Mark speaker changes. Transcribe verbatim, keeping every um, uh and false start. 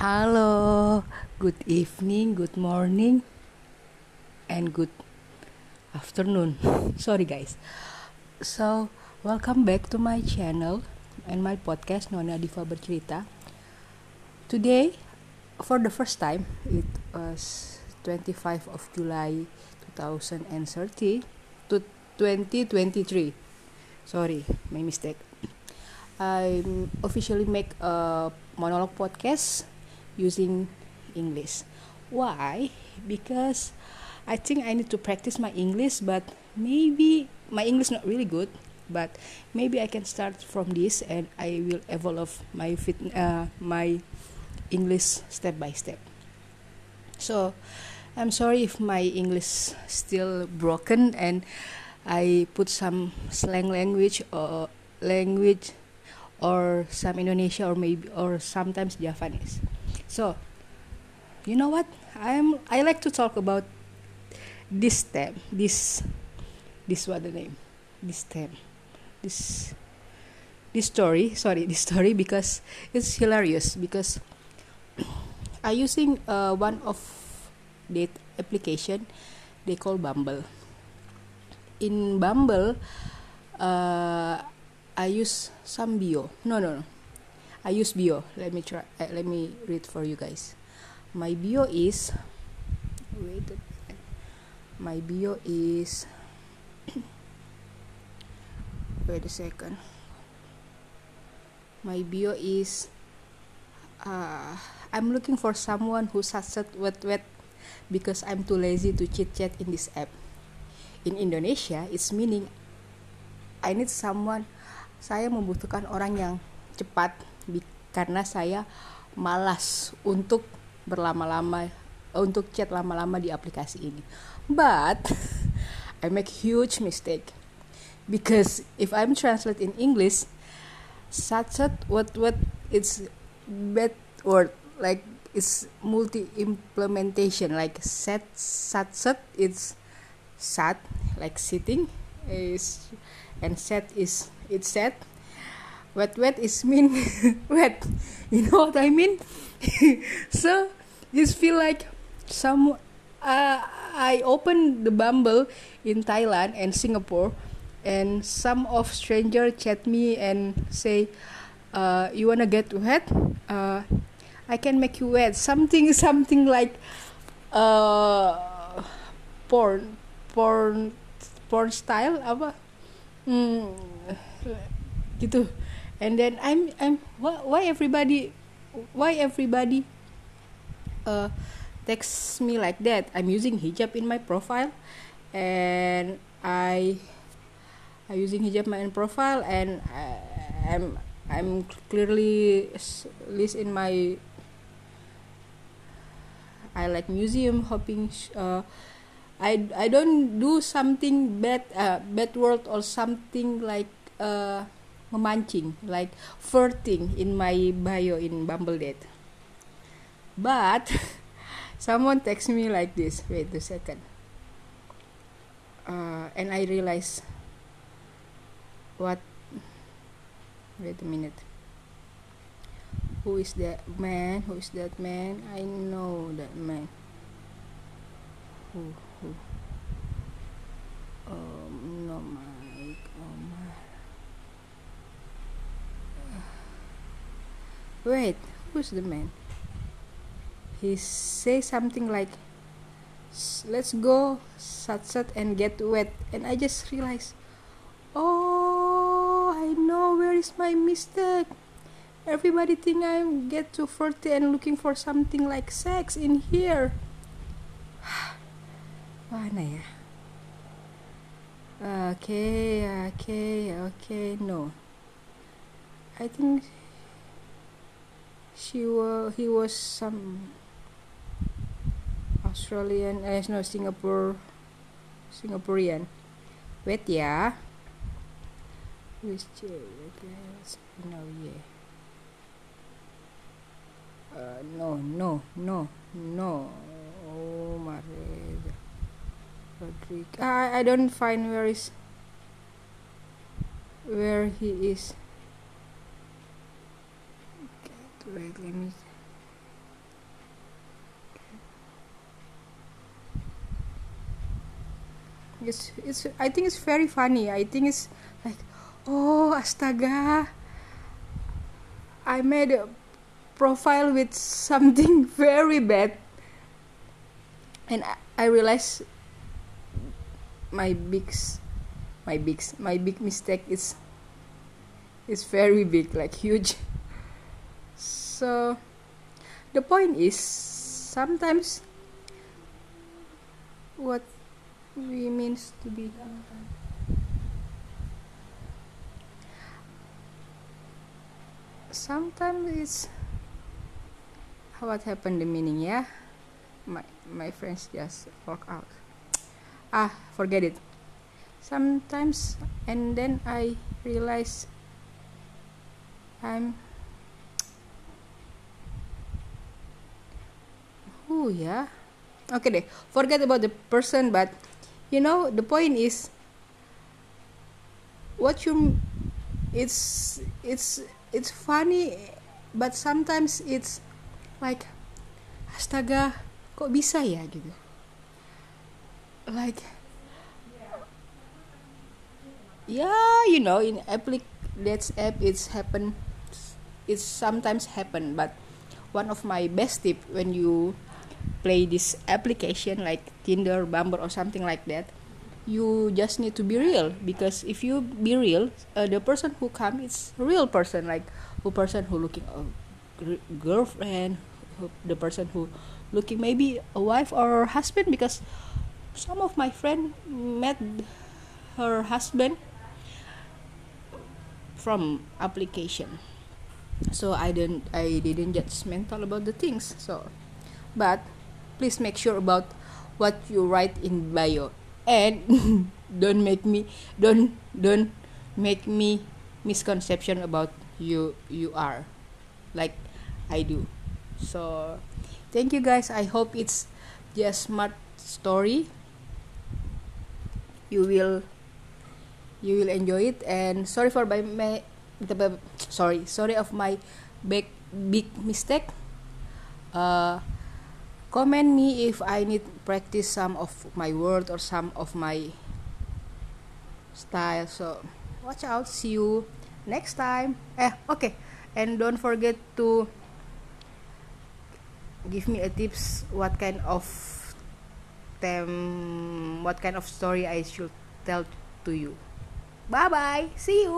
Speaker 1: Halo, good evening, good morning, and good afternoon. Sorry guys. So, welcome back to my channel and my podcast Nona Diva Bercerita. Today, for the first time, it was twenty-fifth of July twenty thirty to twenty twenty-three. Sorry, my mistake. I officially make a monologue podcast using English. Why? Because I think I need to practice my English, but maybe my English not really good, but maybe I can start from this and I will evolve my fit, uh, my English step by step. So I'm sorry if my English still broken and I put some slang language or language or some Indonesia or maybe or sometimes Javanese. So, you know what? I'm I like to talk about this theme. This this what the name? This theme. This this story. Sorry, this story because it's hilarious because I using uh, one of date application they call Bumble. In Bumble, uh, I use some bio. No, no, no. I use bio. Let me try. Uh, let me read for you guys. My bio is. Wait. My bio is. Wait a second. My bio is. Uh, I'm looking for someone who sat wet wet because I'm too lazy to chit chat in this app. In Indonesia, it's meaning I need someone. Saya membutuhkan orang yang cepat karena saya malas untuk berlama-lama untuk chat lama-lama di aplikasi ini. But I make huge mistake because if I'm translate in English, satset what what it's bad word like it's multi implementation like set satset it's sat like sitting is and set is it's set. Wet wet is mean wet. You know what I mean? So you feel like some. Uh, I opened the Bumble in Thailand and Singapore, and some of stranger chat me and say, uh, "You wanna get wet? Uh, I can make you wet." Something something like uh, porn porn porn style apa? Hmm, gitu. And then I'm I'm why, why everybody why everybody uh text me like that? I'm using hijab in my profile and I I using hijab in my profile and I, I'm I'm clearly list in my I like museum hopping uh I I don't do something bad uh, bad word or something like uh memancing like flirting in my bio in Bumble date. But someone text me like this. Wait a second. Uh, and I realize what. Wait a minute. Who is that man? Who is that man? I know that man. Who? Who? Um, no, Mike. Oh my. Wait, who's the man? He say something like, "Let's go sat-sat and get wet." And I just realized, oh, I know where is my mistake. Everybody think I get too flirty and looking for something like sex in here. Mana ya? Okay, okay, okay. No, I think. She was, he was some Australian, eh no Singapore, Singaporean. Wait ya. Which no yeah. Uh, no no no no. Oh Maria. Rodrigo. I I don't find where is where he is. Wait, let me it's it's I think it's very funny. I think it's like, oh astaga, I made a profile with something very bad, and I, I realized my big my big my big mistake is is very big, like huge. So the point is, sometimes what we means to be sometimes it's what happened the meaning, yeah. My my friends just walk out. Ah, forget it. Sometimes, and then I realize I'm oh yeah. Okay deh, forget about the person, but you know the point is what you it's it's it's funny, but sometimes it's like astaga, kok bisa ya gitu. Like yeah, you know, in applic that's app it's happen it's sometimes happen, but one of my best tip when you play this application like Tinder, Bumble or something like that, you just need to be real, because if you be real, uh, the person who come is real person, like who person who looking a gr- girlfriend, who, the person who looking maybe a wife or husband, because some of my friend met her husband from application. So I didn't I didn't judgmental about the things. So but please make sure about what you write in bio, and don't make me don't don't make me misconception about you you are like I do. So thank you guys. I hope it's just smart story. You will you will enjoy it, and sorry for my, my sorry sorry of my big big mistake. Uh, comment me if I need practice some of my word or some of my style. So watch out. See you next time. Eh, okay. And don't forget to give me a tips what kind of them what kind of story I should tell to you. Bye bye. See you.